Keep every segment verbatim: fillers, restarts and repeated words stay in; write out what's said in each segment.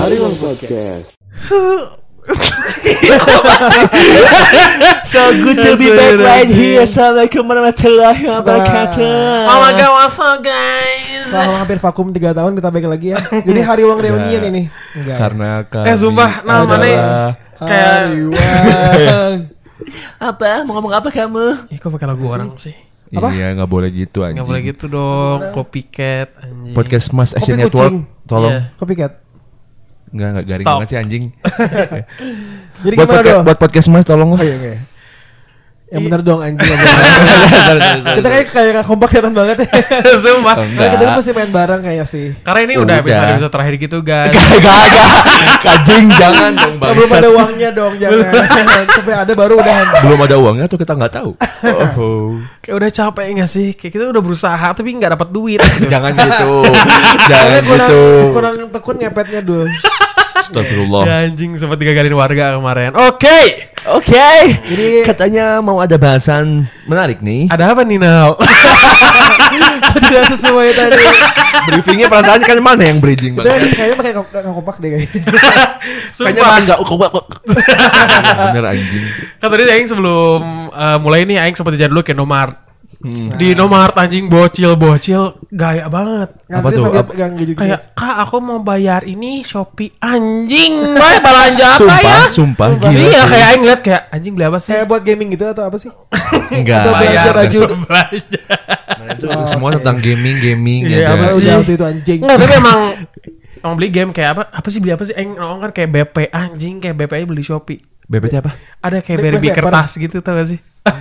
Hariwang Podcast. So good to be back right here. Assalamualaikum warahmatullahi wabarakatuh. Oh my god, what's up guys? Selama hampir vakum tiga tahun kita balik lagi ya. Jadi Hariwang reunion ini. Enggak. Karena kami Eh sumpah, nah mana kayak Hariwang. apa? Mau ngomong apa kamu? Ih kok pakai lagu orang sih? Apa? Iya, nggak boleh gitu anjing. Gak boleh gitu dong, copycat anjing. Podcast Mas Asian Kopi Network, kucing. tolong. Iya. Copycat. Nggak nggak garing Top. banget sih anjing. Jadi buat, gimana podca- dong? buat podcast Mas tolong. Oh iya, iya. Yang benar dong anjing. Kita kayak kayak gak kompak kelihatan banget ya. Sumpah. Oh, Nah, kita kan mesti main bareng kayak sih. Karena ini Udah. udah episode-episode terakhir gitu guys. Gak gak ada. Kajing jangan dong Nah, belum bangsat. ada uangnya dong, jangan. Sampai ada baru udah. Belum ada uangnya tuh kita nggak tahu. Oh. Kayak udah capek gak sih? Kayak kita udah berusaha tapi gak dapat duit. Jangan gitu. Jangan Soalnya kurang, gitu. kurang tekun ngepetnya dulu. Astagfirullah. Ya anjing sempat digagalin warga kemarin. Oke. Oke. Jadi- Katanya mau ada bahasan menarik nih. Ada apa nih Nal? Tidak sesuai tadi. Briefingnya perasaan kan mana yang bridging Kita banget. kayaknya pakai gak kompak deh kayaknya. Kayaknya Sumpah. makan nggak kok kok. Bener anjing. Kan tadi Aing sebelum uh, mulai nih Aing sempat jajan dulu ke Indomaret. Hmm. Di Indomaret anjing bocil-bocil gaya banget. Apa Ngantri tuh? sambil Apa? pegang gitu. Kayak kak aku mau bayar ini Shopee anjing. Wah belanja apa Sumpah, ya? sumpah, Sumpah. gila Iya sih. kayak Aing lihat kayak anjing beli apa sih? Kayak buat gaming gitu atau apa sih? Enggak. Atau belanja Bayar baju. langsung belanja. Nah, itu Oh, semua oke. tentang gaming, gaming Iya, ya apa guys. sih? Udah waktu itu anjing. Enggak tapi emang emang beli game kayak apa? Apa sih beli apa sih? Aing ngomong kan kayak B P anjing kayak B P aja beli Shopee. B P C apa? Ada kayak Black Barbie Black kertas gitu tau gak sih?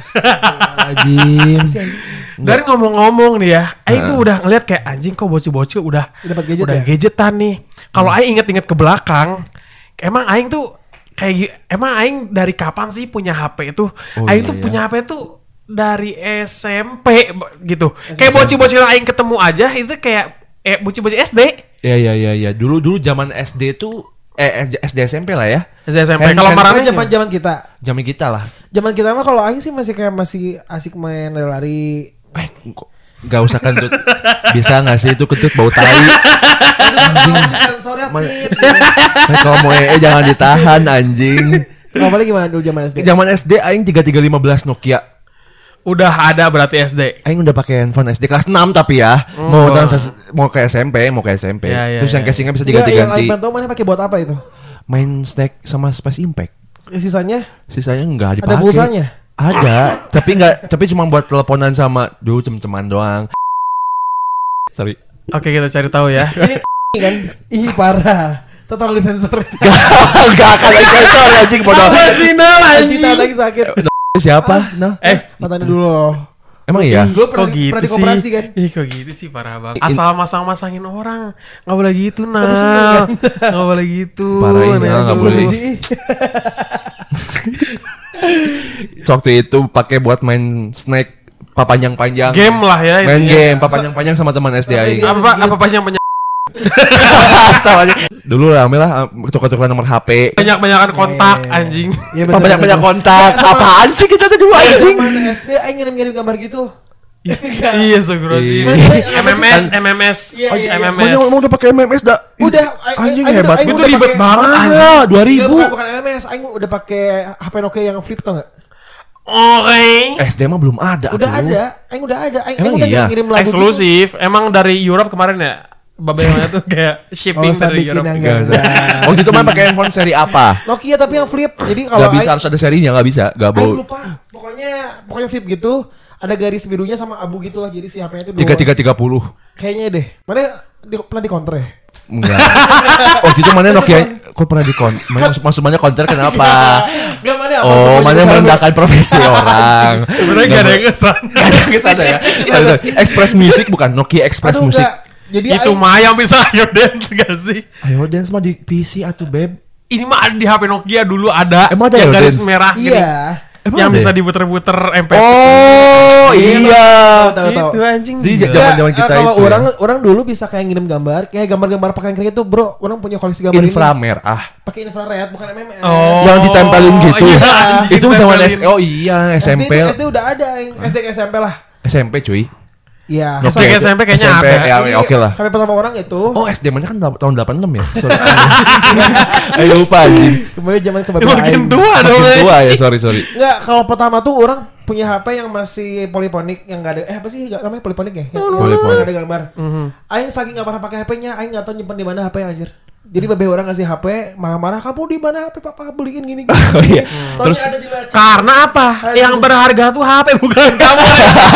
Anjing. Dari ngomong-ngomong nih ya, Aing Nah. tuh udah ngeliat kayak anjing kok bocil-bocil udah Dapat gadget udah ya? gadgetan nih. Kalau Aing inget-inget ke belakang, emang Aing tuh kayak gi- emang Aing dari kapan sih punya H P itu? Oh, Aing iya, tuh iya. punya H P tuh dari S M P b- gitu. Kayak bocil-bocil yang Aing ketemu aja itu kayak eh bocil-bocil S D. Ya ya ya ya. Dulu dulu zaman S D tuh eh S D S M P lah ya. S D S M P. Hand- Kalau hand- marahnya Kan zaman-zaman kita. Zaman kita lah. Zaman kita mah kalau Aing sih masih kayak masih asik main lari. Eh, kok gak usah kentut. Bisa gak sih itu kentut bau tai. Sensor ya. Man- Nah, kalau mau ee jangan ditahan anjing. Kalau balik gimana dulu zaman S D? Zaman S D aing tiga tiga lima belas Nokia. udah ada berarti S D. Aing udah pakai handphone S D kelas enam tapi ya. Mau transaksi, mau ke S M P, mau ke S M P. Ya, ya, Terus yang ya. casingnya bisa Enggak, yang diganti-ganti. Aing pengen tahu mana pakai buat apa itu? Main Snack sama Space Impact. Sisanya Sisanya enggak dipakai. ada pulsanya. Ada, tapi enggak, tapi cuma buat teleponan sama dulu cem-ceman doang. Sorry. Oke, kita cari tahu ya. Ini kan, ih parah. Total disensor. Enggak akan ada sensor anjing bodoh. Apa sih Nal Anjing tahan lagi sakit. Siapa? Nah, Eh, Matanya dulu. emang iya. Gue kok pernah, gitu pernah sih? dikoperasi kan. Ih kok gitu sih parah banget. Asal masang-masangin orang, nggak boleh gitu Terus nah, nggak boleh gitu. Parah ini, Nah, nggak itu. boleh. Ih, Waktu itu pakai buat main Snack papanjang-panjang. Game lah ya. Main intinya. game papanjang-panjang sama teman S D aing. Sampai Apa apa panjang banyak Dulu rame lah tukar-tukar nomor H P. banyak banyakan kontak Eh. anjing. Iya bener, Banyak-banyak bener. kontak. Sama- Apaan sih kita tuh dulu anjing? Zaman S D Aing ngirim-ngirim gambar gitu. Iya segera sih. Iya. M M S M M S Iya, iya, iya. M M Mana S. mau udah pakai M M S dah? Udah, Anjing Aing- hebat. Aing Itu udah ribet pakai- banget, Ah, anjing. dua Enggak, ribu. bukan, bukan M M S, Aing udah pakai H P Nokia yang flip tau gak? Oke. S D mah belum ada. Udah tuh. ada, Aing udah ada. Aing, Emang Aing udah iya? ngirim lagu Eksklusif. Emang dari Europe kemarin ya. Babelnya tuh kayak gitu. shipping Oh, usah dari bikin Europe. yang Enggak enggak. usah. enggak. Oh gitu mah pakai handphone seri apa? Nokia tapi yang flip. Jadi kalau Gak bisa Aing- harus ada serinya, gak bisa. Gak Aing mau. lupa. Pokoknya pokoknya flip gitu. Ada garis birunya sama abu gitu lah. Jadi si H P-nya itu Tiga tiga tiga puluh. Kayaknya deh. Mana di, pernah di counter ya? Enggak. Oh gitu mana Nokia? Kok pernah di kon? Mana maksud maksudnya konter kenapa? Enggak mana apa? Oh, semua mana jurusan. merendahkan profesi orang. Sebenarnya gak ada yang kesan. Gak ada yang kesana ya. Sorry, sorry. Express Music bukan Nokia Express Aduh, Music. enggak. Jadi Itu Aing- mah yang bisa ayo dance gak sih? Ayo dance mah di P C atuh beb. Ini mah ada di H P Nokia dulu ada. Emang ada yang ya, garis dance? merah gini. Iya. Emang yang ada bisa ya? diputer-puter M P. Oh iya. Tahu tahu. Itu anjing. Di gila. zaman-zaman Nggak, kita eh, kalau itu. orang ya. orang dulu bisa kayak ngirim gambar, kayak gambar-gambar pakai kering itu, bro. Orang punya koleksi gambar ini. Inframerah. Pakai infrared, bukan M M S. Oh. Yang ditempelin gitu. Iya, anjing, Itu zaman S ditempelin. Oh iya S M P. S D, S D udah ada, yang S D ke S M P lah. S M P cuy. Iya. Oke, S D S M P kayaknya S M P, ada. ya, Ini ya, oke lah. H P pertama orang itu. Oh, S D mana kan tahun delapan puluh enam ya? Sorry. Ayo lupa anjing. Kembali zaman ke bapak Makin aing. tua dong. Makin tua ya, anjing. sorry sorry. Enggak, kalau pertama tuh orang punya H P yang masih poliponik yang enggak ada eh apa sih namanya poliponik ya? Yang, yang Poliponik. nggak ada gambar. Aing saking enggak pernah pakai H P-nya, aing enggak tahu nyimpen di mana H P anjir. Jadi babe orang ngasih H P marah-marah, "Kamu di mana H P papa beliin gini gini." Oh iya. Taunya Terus ada di laci. Karena apa? Aduh. Yang berharga tuh H P bukan kamu.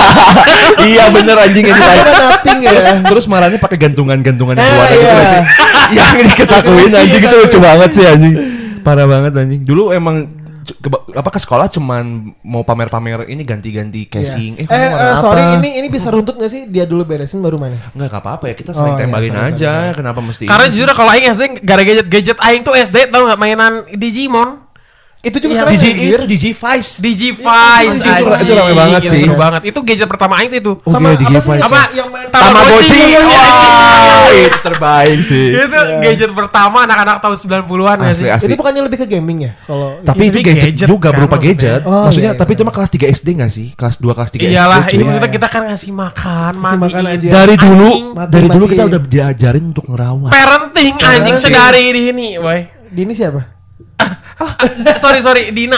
iya bener anjing ini Ada kayak. nothing ya. Terus terus marahnya pakai gantungan-gantungan Eh, keluar gitu iya. nggak sih? Yang dikesakuin anjing itu lucu banget sih anjing. Parah banget anjing. Dulu emang c- ke, apa ke sekolah cuman mau pamer-pamer ini ganti-ganti casing. Iya. Eh, kamu Eh, warna eh, apa? sorry ini ini bisa runtut gak sih? Dia dulu beresin baru mana? Enggak enggak apa-apa ya, kita saling Oh, iya, tembalin sorry, aja. sorry, sorry. Kenapa mesti Karena ini? jujur kalau aing S D gara gadget-gadget aing tuh S D tau enggak mainan Digimon. Itu juga Iya, keren Digi anjir. itu Digivice. Digivice Itu- itu- itu rame banget Itu sih. seru banget. Itu gadget pertama aing tuh itu. Oh, Sama iya, apa sih Digivice. Apa? yang main Tamagotchi. Wah, itu terbaik sih. Itu gadget pertama anak-anak tahun sembilan puluhan ya Asli sih. asli. Itu bukannya lebih ke gaming ya? Kalau Tapi itu Ini gadget, gadget juga kan berupa maksudnya. gadget. Oh, maksudnya iya, tapi iya. itu mah kelas tiga S D enggak sih? Kelas dua kelas tiga Iyalah, S D. ini cuy. kita kita kan ngasih makan, Ngasih makan mandiin. aja. Dari dulu Mati- dari dulu mati. kita udah diajarin untuk ngerawat. Parenting anjing Parenting. sedari di ini, boy. Dini siapa? sorry sorry Dina.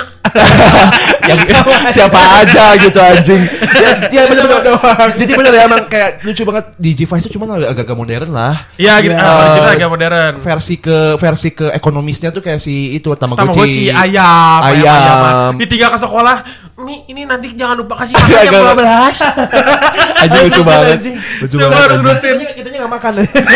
yang siapa aja gitu anjing. Ya, ya bener bener doang. Jadi bener ya emang kayak lucu banget Digivice itu cuma agak-agak modern lah. Ya gitu, Iya. ah, original agak modern. Versi ke versi ke ekonomisnya tuh kayak si itu Tamagotchi, Tamagotchi. ayam, ayam, Ayam. ayam. Ditinggal ke sekolah. Mi, ini nanti jangan lupa kasih makan Agak- jam dua belas. Anjing lucu banget. anjing. Lucu Semua banget. harus anjing. rutin. Kitanya kitanya enggak makan.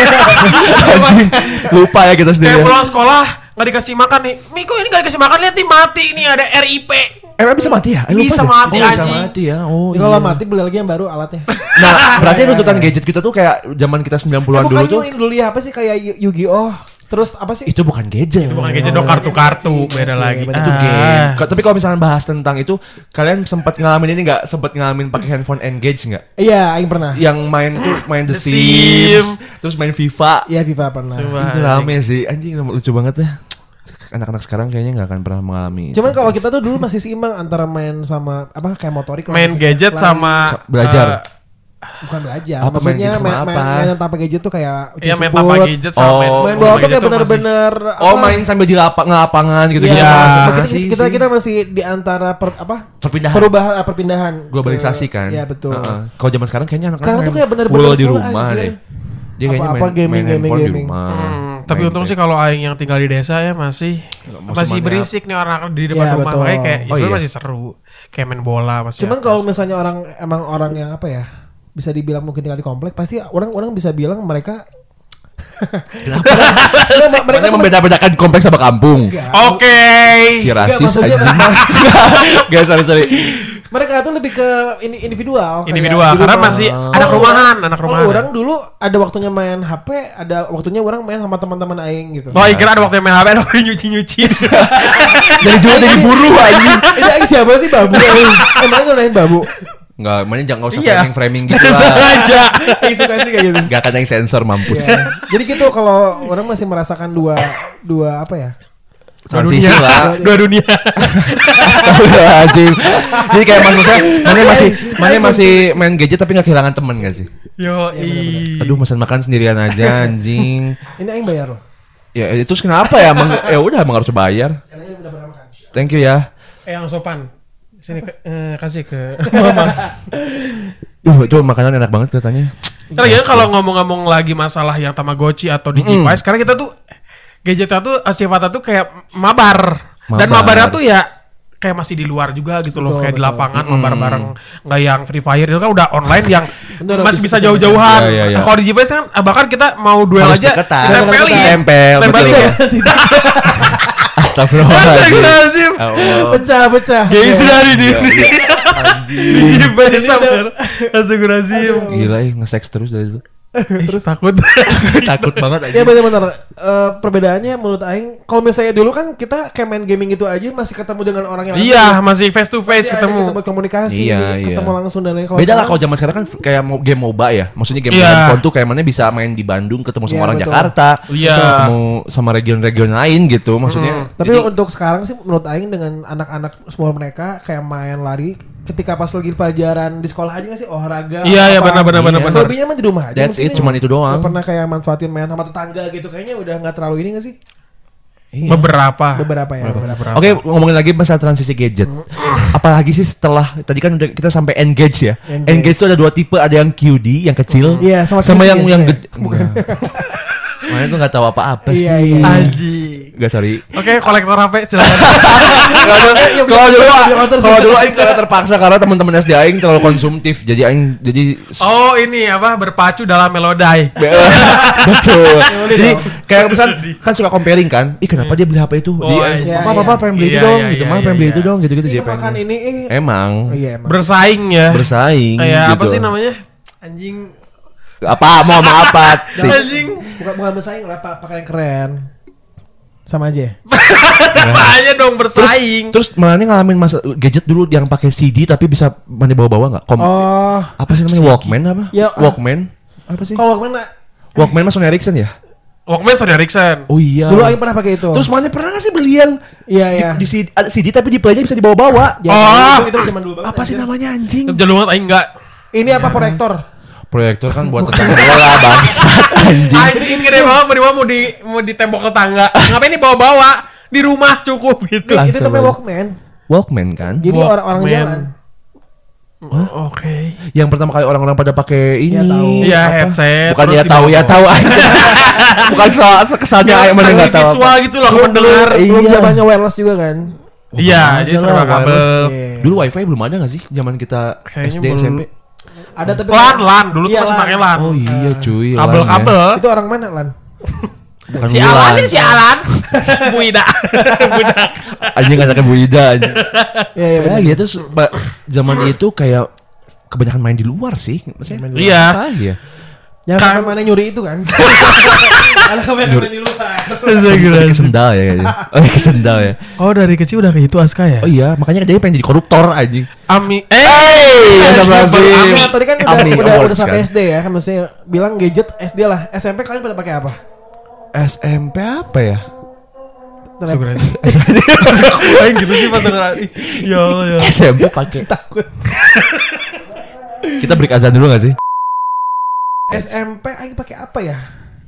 Anjing. Lupa ya kita sendiri. Kayak pulang sekolah nggak dikasih makan nih. Mi kok ini nggak dikasih makan, lihat nih mati nih ada R I P. Emang bisa mati ya? Eh, lupa Bisa deh. mati, Oh, bisa anjing. mati ya. Oh. Ya, kalau iya. mati beli lagi yang baru alatnya. Nah, berarti runtutan gadget kita tuh kayak zaman kita sembilan puluhan Eh, dulu bukan tuh. ini dulu ya apa sih kayak Yu- Yu-Gi-Oh. Terus apa sih? Itu bukan gadget. Bukan gadget dong, kartu-kartu beda Iya, lagi. bener. Itu Ah. game. Ka- Tapi kalau misalnya bahas tentang itu, kalian sempat ngalamin ini nggak? Sempat ngalamin pakai handphone Engage nggak? Iya, aing pernah. Yang main tuh main The, The Sims, Sims. terus main FIFA. Iya, FIFA pernah. Coba. Itu rame sih, anjing lucu banget ya. Anak-anak sekarang kayaknya nggak akan pernah mengalami. Cuman kalau kita tuh dulu masih seimbang antara main sama apa kayak motorik lah, Main maksudnya. gadget Lari. sama Sa- belajar. eh, bukan belajar. Apa main Maksudnya gadget sama main, main, apa? main tanpa gadget tuh kayak ucil Iya, main siput. tanpa gadget sama Oh. main Main sama bola tuh gadget kayak tuh masih- bener-bener Oh, apa? main sambil di lapang lapangan gitu Iya, gitu. kita, Sih, kita, sih. kita masih di antara per, apa? Perpindahan. Perubahan ah, perpindahan. Globalisasi ke- kan. Iya, betul. Heeh. Kalau zaman sekarang kayaknya anak-anak Sekarang tuh main kayak bener-bener full di full, rumah anjir. deh. Dia kayaknya Apa-apa main, gaming, main gaming, handphone di gaming. rumah. Hmm, tapi Main untung kayak- sih kalau aing yang tinggal di desa ya masih Masih masih banyak. berisik nih orang di depan Iya, rumah, betul. makanya kayak Oh, itu iya. masih seru. Kayak main bola masih. Cuman apa. kalau misalnya orang emang orang yang apa ya? Bisa dibilang mungkin tinggal di komplek, pasti orang-orang bisa bilang mereka Nggak, ma- mereka Makanya tuh membeda-bedakan kompleks sama kampung. Enggak. Oke. Si rasis maksudnya- anjing. Gak, sorry sorry. Mereka tuh lebih ke ini individual. kayak Individual di karena rumah. masih Oh. anak Kalau rumahan, orang- anak kalau rumahan. orang dulu ada waktunya main H P, ada waktunya orang main sama teman-teman aing gitu. Oh, kira ada waktu main H P ada waktu nyuci-nyuci. Dari dulu jadi buru anjing. Ini aing siapa sih babu? Emang ngelain babu? Enggak, makanya jangan usah Iya. framing-framing gitu lah. Sengaja. Aing suka sih kayak gitu. Enggak akan yang sensor mampus. Ya. Jadi gitu kalau orang masih merasakan dua dua apa ya? Transisi dunia. lah. Dua dunia. Astagfirullahaladzim. Jadi kayak maksudnya mana masih mana masih main gadget tapi nggak kehilangan teman gak sih? Yo, i. Aduh, pesan makan sendirian aja anjing. Ini aing bayar loh. Ya itu kenapa ya? Emang, ya udah emang harus bayar. Karena ini udah pernah makan. Thank you ya. Eh, yang sopan. Sini ke- eh, kasih ke mama. Duh, itu makanan enak banget katanya. Karena gitu kalau ngomong-ngomong lagi masalah yang Tamagotchi atau Digivice, karena kita tuh gadgetnya tuh sifatnya tuh kayak mabar. Dan Mabar. mabarnya tuh ya kayak masih di luar juga gitu loh, Betul, kayak di betul. lapangan mabar bareng, nggak yang Free Fire itu kan udah online yang Bener, masih bisa- bisa bisa- jauh-jauhan. Iya, iya, iya. Kalau Digivice kan ah, bahkan kita mau duel Harus aja deketan. ditempelin. Tempel, Tempelin betul. ya. Astagfirullahaladzim. Astagfirullahaladzim. Ya Allah. Pecah-pecah. Guys dari Iya, diri. Digivice sama. Astagfirullahaladzim. Gila ya, nge-sex terus dari dulu. Terus takut. Takut banget aja. Ya benar-benar eh, perbedaannya menurut aing kalau misalnya dulu kan kita kayak main gaming itu aja masih ketemu dengan orang yang Iya, masih face to face Masih ada ketemu. kita buat komunikasi, Iya, iya. ketemu langsung dan lain. Beda lah kalau zaman sekarang kan kayak mau game MOBA ya. Maksudnya game Iya. handphone tuh kayak mana bisa main di Bandung ketemu sama Iya, orang betul. Jakarta, Iya. ketemu sama region-region lain gitu. Maksudnya Tapi jadi- untuk sekarang sih menurut aing dengan anak-anak semua mereka kayak main lari ketika pas lagi pelajaran di sekolah aja nggak sih olahraga? Iya, iya, apa. benar-benar Iya. benar-benar. Selebihnya mah di rumah aja. That's it, maksudnya. cuman itu doang. Nggak pernah kayak manfaatin main sama tetangga gitu. Kayaknya udah nggak terlalu ini nggak sih? Iya. Beberapa. Beberapa ya. Beberapa. Oke, ngomongin lagi masalah transisi gadget. Apalagi sih setelah tadi kan udah kita sampai Engage ya. Engage. Engage itu ada dua tipe, ada yang Q D yang kecil, Iya, sama sama Q C yang ya, yang iya. gede. Bukan. Makanya tuh nggak tahu apa-apa sih. Iya, iya. Anjing. Gak sorry. Oke, kolektor H P silakan. Kalau dulu motor kalau sih. dulu aing karena terpaksa karena teman-teman S D aing terlalu konsumtif. Jadi aing jadi Oh, ini apa? Berpacu dalam melodai. betul. Jadi kayak misal kan suka comparing kan. Ih kenapa dia beli H P itu? Oh, Dia iya, apa iya. apa pengen beli itu Iya, dong iya, gitu. iya, Mah pengen iya, beli iya. itu dong gitu-gitu Ini jadi makan pengen. ini eh. Emang Oh, iya emang. Bersaing ya. bersaing. Kayak apa gitu. sih namanya? Anjing. Apa mau sama apa? Tik. Anjing. Bukan bukan bersaing lah, pak pakai yang keren. Sama aja. Makanya dong Terus, bersaing. terus mana ngalamin masa gadget dulu yang pakai C D tapi bisa mana bawa-bawa nggak? Kom- Oh, apa sih namanya Walkman apa? Ya, ah. Walkman apa sih? kalau mana? Walkman mah Sony Ericsson ya? Walkman Sony Ericsson. Oh iya. Dulu Aing pernah pakai itu. Terus mana pernah nggak sih beli yang Iya, iya. di, di C D, ada C D tapi di playnya bisa dibawa-bawa? Ya, Oh. itu, itu zaman dulu banget. Apa sih anjir. namanya anjing? Jalur aing enggak. Ini apa proyektor? Proyektor kan buat tetangga bola bangsat anjing. Anjing gede banget mau di mau di mau di tembok tetangga. Ngapain ini bawa-bawa? Di rumah cukup gitu. Kelas Itu namanya coba. Walkman. Walkman kan? Jadi Walkman. orang-orang jalan. Oh, Oke. Yang pertama kali orang-orang pada pakai ini. Ya, tahu. Iya, apa? headset. Bukan terus ya tahu ya dibawa. tahu aja. Bukan soal kesannya Ya, aja mana kasih enggak tahu. visual apa. gitu loh ke pendengar. Iya. Belum zamannya wireless juga kan? Iya, Ada jadi serba lah, kabel. wireless. Iya. Dulu wifi belum ada gak sih zaman kita Kayaknya S D belum. S M P? Ada tapi Lan, lan, dulu tuh Iya, masih lan. pakai lan. Oh iya cuy. Kabel-kabel. Itu orang mana lan? Bukan Si Wulan. Alan ini si Alan. Bu Ida. Budak. Anjing ngajakin Bu Ida anjing. Iya iya Ya benar. gitu terus, ba- zaman itu kayak kebanyakan main di luar sih. Maksudnya Iya. apa ya? Yang Kan- sampai mana nyuri itu kan? Anak kamu yang main di luar. Pakai sendal ya kayaknya. Oh, pakai sendal ya. Oh, dari kecil udah kayak itu Aska ya? Oh iya, makanya dia pengen jadi koruptor anjing. Ami eh Hey, Astagfirullahaladzim. Ami. Nah, tadi kan udah Ami udah, Awards udah sampai kan. S D ya, kan maksudnya bilang gadget S D lah. S M P kalian pada pakai apa? S M P apa ya? Telep- Syukur aja. Aing gitu sih pas denger. Ya ya. S M P pakai. Takut. Kita break azan dulu gak sih? S M P aing pakai apa ya?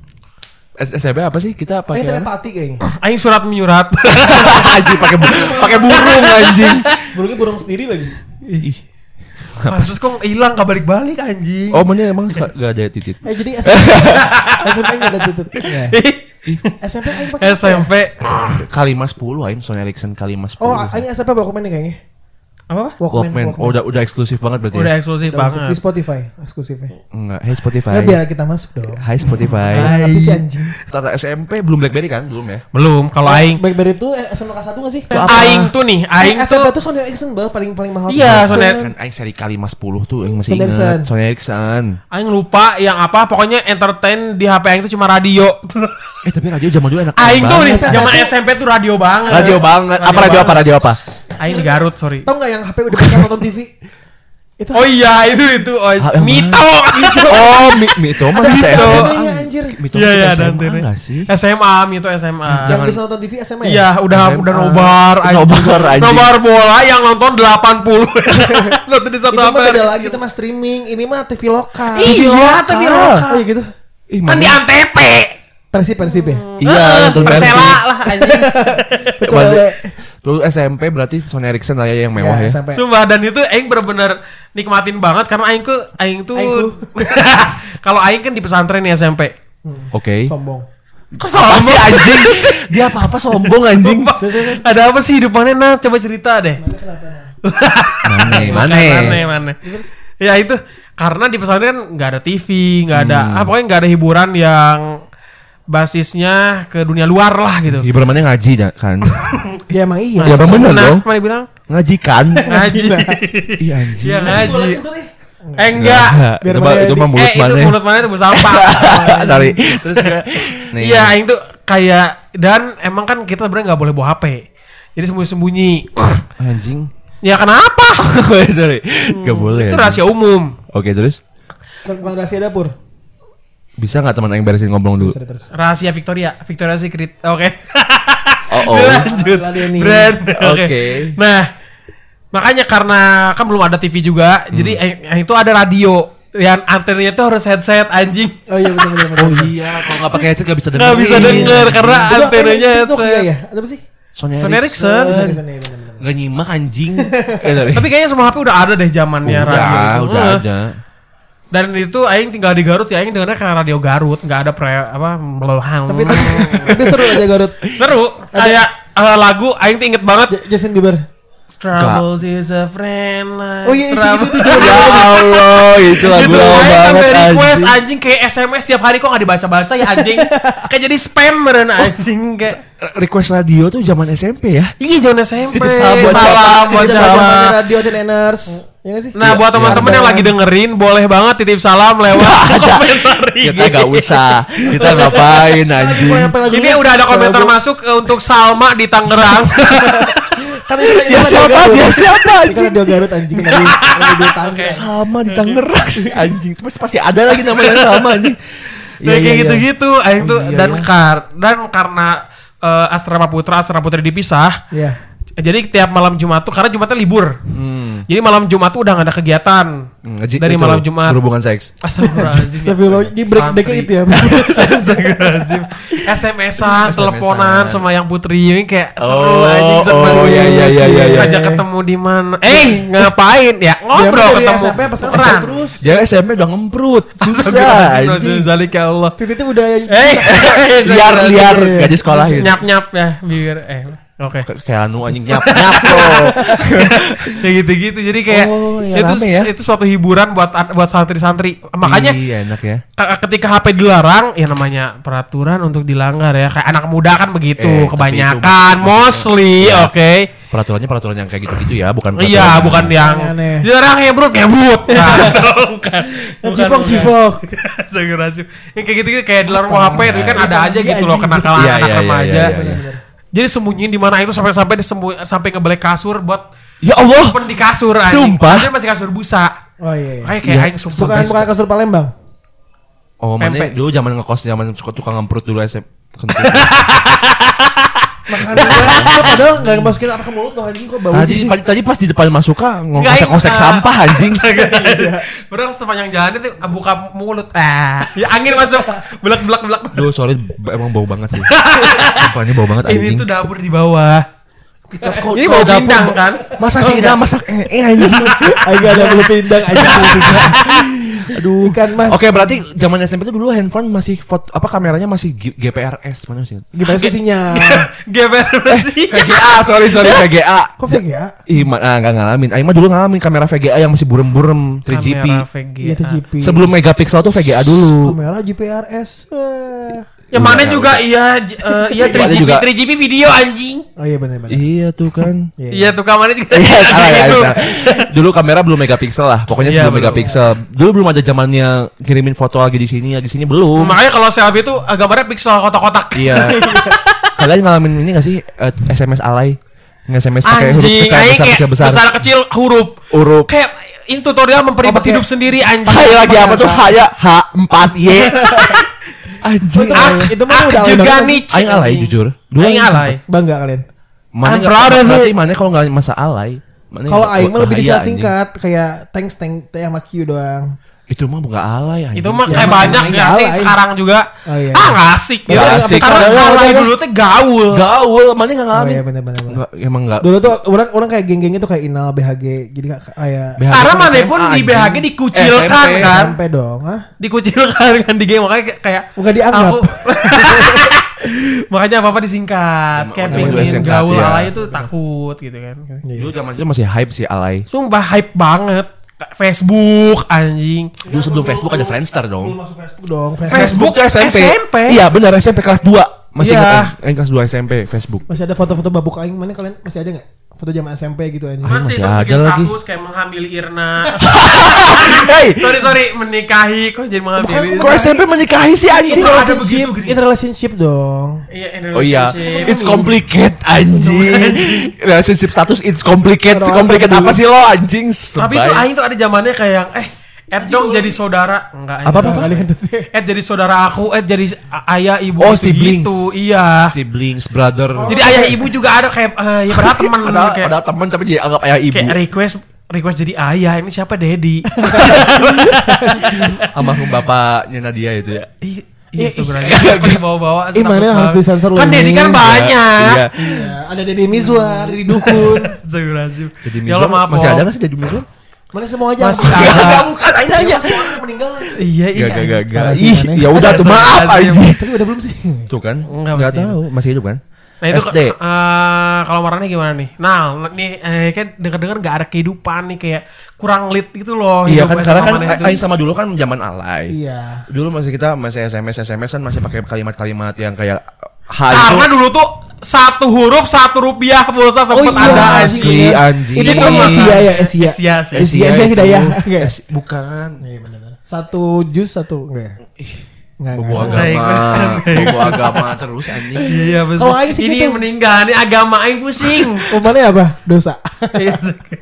S S M P apa sih? Kita Aing pakai apa? telepati kayaknya. Aing surat menyurat. anjing pakai bu- pakai burung anjing. Burungnya burung sendiri lagi. Ih. Pantes kok hilang gak balik-balik anjing. Oh, mana emang gak ada titit. Eh jadi S M P S M P nggak ada tutut. Ya. S M P aing pakai S M P. Kalima sepuluh aing Sony Ericsson Kalima Oh, sepuluh. aing S M P Walkman nih kayaknya. Apa? Walkman. Oh, udah udah eksklusif banget berarti. Udah Ya? eksklusif Di banget. Spotify eksklusifnya. Enggak, hey Spotify. Ya biar kita masuk dong. Hai Spotify. Ah, tapi si anjing. Tata S M P belum BlackBerry kan? Belum ya? Belum, kalau aing BlackBerry itu eh, S M P kelas satu nggak sih? aing tuh nih, aing Eh, S M P tuh tuh Sony Ericsson bal paling paling mahal. Iya, tuh. Sony- Kan aing seri Kalima sepuluh tuh aing masih Sony Ericsson. ingat. Sony Ericsson. aing lupa yang apa, pokoknya entertain di H P aing tuh cuma radio. Eh tapi radio zaman dulu enak Aing tuh nih banget. zaman S M P tuh radio banget. Radio banget. Apa radio apa? Radio apa? Aing di Garut, sorry. Tahu nggak yang H P udah bisa nonton T V? Itu Oh iya, itu itu oh, Ah, yang Mito. Oh, Mi Mito mah ada kita S M A. antena anjir. Mito Iya iya, kita S dan M A enggak sih? S M A, Mito S M A. Yang bisa nonton T V S M A ya? Iya, udah S M A. udah nobar anjing. Nobar, anjing. Nobar bola yang nonton delapan puluh. Nonton di Itu satu mah H P. beda lagi, itu mah streaming. Ini mah T V lokal. Iya, T V lokal. Oh iya gitu. Ih, Kan di mana? Antep. Persib Persib ya. Iya, nonton Persela Persib. lah anjing. Betul. Balik. Le. Dulu S M P berarti Sony Ericsson lah ya yang mewah ya. sampai. Sumpah, dan itu aing bener-bener nikmatin banget karena aing tuh aing tuh Aing kalau aing kan di pesantren nih S M P. Oke. Sombong. Kok Apa sih sombong anjing? Dia apa-apa sombong anjing. Sumpah. Ada apa sih hidupannya nah? Coba cerita deh. Mana? Mana? Mana mana. Ya itu karena di pesantren nggak ada T V, nggak ada, Hmm. ah, pokoknya nggak ada hiburan yang basisnya ke dunia luar lah gitu. Hiburan mana ngaji dah, kan? Ya emang iya. Ya bang bener Nah, dong. mana bilang Ngaji kan? ngaji. Iya anjing. Iya ngaji. Itu nih. Eh enggak. Biar Itu mah mana itu di- mah mulut eh itu mana? mulut mana itu bersampah. Sorry. Terus juga. nih. Iya, aing tuh kayak dan emang kan kita sebenarnya nggak boleh bawa H P. Jadi sembunyi-sembunyi. Anjing. Ya kenapa? Sorry. Gak boleh. Itu anjing. rahasia umum. Oke terus. Bukan rahasia dapur. Bisa nggak teman yang beresin ngomong dulu? Terus terus. Rahasia Victoria, Victoria Secret. Oke. Oh oh. Lanjut. Lah dia nih. Brand. Oke. Oke. Nah, Makanya karena kan belum ada T V juga, hmm. jadi yang itu ada radio. Yang antenanya tuh harus headset anjing. Oh iya benar benar. Oh iya, kalau nggak pakai headset nggak bisa denger. Nggak bisa denger karena Itu- antenanya itu headset. Nokia ya? Ada apa sih? Sony Sony Ericsson. Ericsson. Bisa, bisa, iya, benar, benar. Nggak nyimak anjing. Eh, dari- Tapi kayaknya semua H P udah ada deh zamannya udah, radio itu. udah Eh. ada. Dan itu aing tinggal di Garut ya, aing dengarnya karena radio Garut, nggak ada pre apa melohan. Tapi tapi seru aja Garut. Seru. Kayak eh, lagu aing tuh inget banget. J- Justin Bieber. Troubles is a friend like Oh iya itu itu trouble. itu. itu. Ya Allah, itu lagu Gitu, lama aing sampai banget request anjing. anjing kayak S M S tiap hari kok nggak dibaca-baca ya anjing. Kayak jadi spam meren anjing kayak. Request radio tuh zaman S M P ya. Iya jangan S M P. Titip salam buat Salam siapa? buat Itu siapa. zamannya radio Teneners. Ya nggak sih? Nah buat teman-teman yang lagi dengerin boleh banget titip salam lewat komentar I G. Kita nggak usah. Kita ngapain anjing. Ini udah ada komentar masuk eh, untuk Salma di Tangerang. Kan itu Ya siapa dia siapa Kan anjing. radio Garut anjing lagi lagi di tangga. Sama di Tangerang sih anjing. Terus pasti ada lagi namanya sama anjing. Nah kayak gitu-gitu, aing tuh iya, dan iya. kar dan karena eh, asrama putra asrama putri dipisah. Iya. Jadi tiap malam Jumat tuh karena Jumatnya libur. Hmm. Jadi malam Jumat tuh udah gak ada kegiatan. Ngaji- Dari itu, malam Jumat. berhubungan seks. Astagfirullahaladzim. Tapi lo di break breaknya itu ya. Astagfirullahaladzim. S M S-an, teleponan sama yang putri ini kayak seru Oh, anjing seru. oh, iya, iya, iya, iya, Terus iya. ajak ketemu di mana? Eh, ngapain ya? Ngobrol Dia ketemu. S M P pas Beneran. sekarang terus. Dia S M P udah ngemprut. Susah Astagfirullahaladzim, anjing. Zalik ya Allah. Titik itu udah Eh, Liar liar Iya. gaji sekolahin. nyap-nyap ya biar eh oke. K- Kayak anu anjing nyap nyap bro. Kayak gitu-gitu. Jadi kayak Oh, ya itu rame ya. itu suatu hiburan buat buat santri-santri. Makanya Iya enak ya. k- ketika H P dilarang ya namanya peraturan untuk dilanggar ya. Kayak anak muda kan begitu Eh, tapi kebanyakan itu- mostly, Ya. oke. Peraturannya peraturan yang kayak gitu-gitu ya, bukan Iya, peraturan- bukan yang aneh. dilarang ngebrut ngebrut. Nah, bukan. Cipok cipok. Segurasi. Yang kayak gitu kayak dilarang mau H P tapi kan ada aja Iya, gitu loh anjing. kenakalan Iya, anak iya, iya, remaja. iya, iya. Jadi sembunyiin di mana itu sampai-sampai disembunyi sampai ngebelek kasur buat Ya Allah. simpen di kasur anjing. Sumpah. Dia masih kasur busa. Oh iya. iya. Kayak kayak Iya. aing sumpah. Bukan guys. bukan kasur Palembang. Oh, mana Pempek. dulu zaman ngekos zaman suka tukang ngemprut dulu S M P. Makanan gua padahal enggak masukin apa ke mulut loh anjing kok bau Tadi sih. tadi tadi pas di depan masuk kah Enggak, ngosek-ngosek enggak. sampah anjing. Padahal sepanjang jalan itu buka mulut. Ah, ya angin masuk. Belak belak belak. Duh, sorry b- emang bau banget sih. Sumpah ini bau banget Ini anjing. tuh dapur di bawah. Kok- Ini kok bau dapur pindang ba- kan? Masa Oh, sih enggak. Ina masak eh eh, anjing. Agak ada bulu pindang aja. Aduh. Ikan mas. Oke, berarti zaman S M P itu dulu handphone masih foto apa kameranya masih G- G P R S mana sih? Gimana sih sinyal? Geber sih. V G A, sorry sorry V G A. Kok V G A? Ih, ma- ah, enggak ngalamin. Aing mah dulu ngalamin kamera V G A yang masih burem-burem tiga G P. Kamera V G A. Iya tiga G P. Sebelum megapiksel tuh V G A dulu. Kamera G P R S. Eh. Yang mana juga iya j- eh, iya Ada tiga G P juga. tiga G P video anjing. Oh iya benar-benar. Iya tuh kan. Iya. Iya tuh kamarnya juga. Iya, salah ya. Gitu. salah. Dulu kamera belum megapiksel lah. Pokoknya Iya, sebelum belum. megapiksel. Dulu belum ada zamannya kirimin foto lagi di sini, lagi di sini belum. Makanya kalau selfie itu eh, gambarnya pixel kotak-kotak. Iya. Kalian ngalamin ini gak sih eh, S M S alay? Nge-S M S pakai huruf Anjing, besar aing besar kayak besar besar. besar kecil huruf. Huruf. Kayak ini tutorial memperibet Oh, pakai- hidup sendiri anjing. Hai lagi apa tuh? Haya H empat Y. Oh, Anjing. itu Ah, itu mah ah, udah alay juga banget. nih. Aing alay jujur. Dulu Aing alay. Bangga kalian. Mana I'm nggak- proud of berarti it. mana kalau nggak masa alay? Mana Kalau nggak- aing mah lebih bahaya, disingkat kayak thanks thank teh sama Q doang. anjing. Itu mah bukan alay anjing. Itu mah Ya, kayak emang- banyak emang gak sih alay. sekarang juga. Oh, iya. Ah nggak asik. Nggak Ya, asik. Karena Udah, udah, alay udah. dulu tuh gaul. gaul, mana nggak Oh ngalamin? iya benar-benar. Nggak, emang nggak. Dulu tuh orang orang kayak geng-gengnya tuh kayak Inal B H G jadi kayak kayak B H G Karena kan mana S M A, pun di anjing. B H G dikucilkan S M P. kan. sampai dong, ah. Dikucilkan kan di game makanya kayak- kayak Bukan dianggap. aku- makanya apa-apa disingkat. Emang Kayak udah pengen disingkat, gaul iya. alay itu takut gitu kan. Iya. Dulu zaman itu masih hype sih alay. Sumpah hype banget. Facebook anjing. Dulu sebelum Facebook ada Friendster dong. Masuk Facebook dong. Facebook tuh S M P. S M P. Iya benar S M P kelas dua. Masih Iya. ingat Aing kelas dua S M P Facebook. Masih ada foto-foto babuk aing mana kalian masih ada nggak? Foto zaman S M P gitu aja. masih Masih, terus ada bikin lagi. status kayak menghamili Irna. Hei, sorry sorry menikahi kok jadi menghamili. kok S M P menikahi sih anjing? Itu ada relationship, begitu, gini. in relationship dong. Iya, in Oh iya, relationship. it's complicated anjing. Relationship status it's complicated. Si complicated apa sih lo anjing? Tapi itu Sebay. aing tuh ada zamannya kayak yang eh Ed dong jadi saudara. Enggak. Apa, apa, apa? Ed jadi saudara aku, Ed jadi ayah ibu Oh, gitu, siblings. gitu. Iya. Siblings, brother. Jadi ayah ibu juga ada kayak eh, ya padahal teman ada kayak, ada teman tapi jadi anggap ayah ibu. kayak request request jadi ayah. Ini siapa Dedi? Almarhum bapaknya Nadia itu ya. Ih, Iya sebenarnya apa dibawa-bawa. Ih, mana harus disensor Kan Dedi kan banyak. Iya. Iya, ada Deddy Mizwar, Deddy Dukun. Astagfirullahaladzim. Jadi Ya Allah maaf. masih Om. ada nggak sih Deddy Mizwar? Mana semua aja. Masih Enggak, ada. enggak, bukan aja aja. Semua udah meninggal. Iya iya. Gak gak gak gak. Parah sih, Ih, mana? ya udah tuh maaf Astagfirullahaladzim. aja. Tapi udah belum sih? Tuh kan? Enggak, Enggak masih tahu, masih hidup kan? Nah itu S D. eh, kalau marahnya gimana nih? Nah nih eh, kayak dengar-dengar nggak ada kehidupan nih kayak kurang lit gitu loh. Iya hidup kan S M A karena kan mana itu. Aing sama dulu kan zaman alay. Iya. Dulu masih kita masih S M S S M S kan masih pakai kalimat-kalimat yang kayak H itu Karena dulu tuh satu huruf satu rupiah pulsa sempet Oh iya, ada asli anjing. Itu kan Asia ya, Asia. Asia sih. Asia Asia Hidayah. Enggak ya? Es- bukan. Iya benar. Satu jus satu enggak ya? Enggak, Bobo enggak. Saya agama, bobo agama terus anjing. Iya betul. Kalau Aing sih Ini gitu. meninggal, ini agama Aing pusing. Oh, mana apa? Dosa. Iya.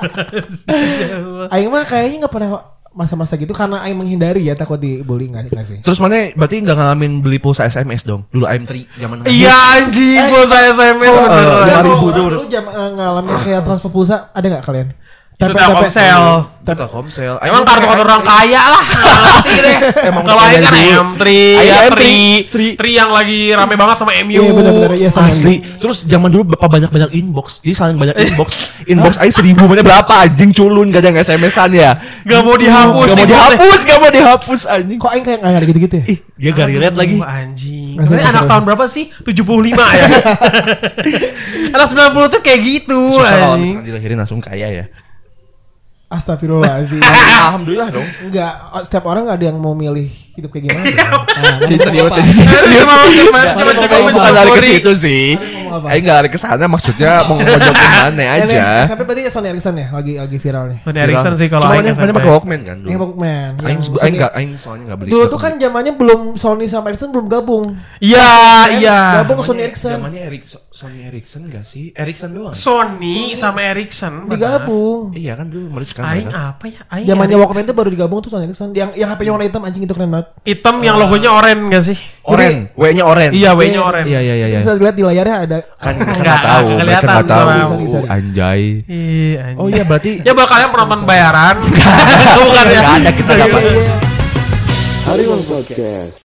Aing mah kayaknya enggak pernah masa-masa gitu karena Aing menghindari ya takut dibully enggak enggak sih? Terus mana berarti nggak ngalamin beli pulsa S M S dong? Dulu I M tiga zaman Iya anjing, gua saya S M S Oh, beneran. lima Lu- ribu tuh. Lu jam eh, ngalamin kayak transfer pulsa ada enggak kalian? Itu Tepe- Telkomsel. tepe- Telkomsel. Emang kartu kartu orang kaya lah. Ngerti deh. Emang Kalau Aing kan dulu. M tiga, Aing M M tiga. tiga, Tri yang lagi rame banget sama M U. Iya benar-benar iya sama. Asli. Terus zaman dulu bapak banyak-banyak inbox. Jadi saling banyak inbox. Inbox aja seribu mana berapa anjing culun gak ada S M S-an ya. Gak mau dihapus. Gak mau inboxnya. dihapus, gak mau dihapus anjing. Kok Aing kayak enggak ada gitu-gitu ya? Ih, dia gak relate lagi. Aduh, anjing. Nggak Ini seru, anak seru. tahun berapa sih? tujuh puluh lima ya. Anak sembilan puluh tuh kayak gitu. Susah kalau anjing. misalkan dilahirin langsung kaya ya. Astagfirullahaladzim. Alhamdulillah dong. Enggak, setiap orang ada yang mau milih hidup kayak gimana. Iya, Nah, Jadi serius, apa? jadi serius. Cuma- cuma- Nggak, cuma- Aing cuma bukan lari ke mencuri. situ sih. Ngomong apa? Aing nggak lari ke sana, maksudnya mau ngejokin mana Yang aja. S M P berarti Sony Ericsson ya, lagi lagi viralnya. Sony Ericsson sih kalau Cuma Aing mana S M P. pakai Walkman kan dulu. Yang Walkman. Aing yang aing Sony- nggak, aing soalnya nggak beli. Dulu tuh kan zamannya belum Sony sama Ericsson belum gabung. Iya, iya. Gabung Sony Ericsson. Namanya Ericsson, Sony Ericsson nggak sih? Ericsson doang. Sony sama Ericsson. benar. Digabung. Iya kan dulu mereka kan. Aing mereka. apa ya? Aing Zamannya Ericsson. Walkman tuh baru digabung tuh Sony Ericsson. Yang yang H P-nya warna hitam anjing itu keren banget. Hitam yang logonya oranye gak sih? Oren, W-nya Oren. Iya, W-nya Iya. oranye. Iya iya iya. iya. Bisa dilihat di layarnya ada Kan mereka Nggak, nggak tahu, nggak mereka kelihatan nggak tahu. sama- Sorry, sorry. Anjay. Iya, anjing. Oh iya berarti. Ya buat kalian penonton bayaran. Bukan ya? Nggak ada, kita nggak Iya, pakai. iya. Harimau Podcast.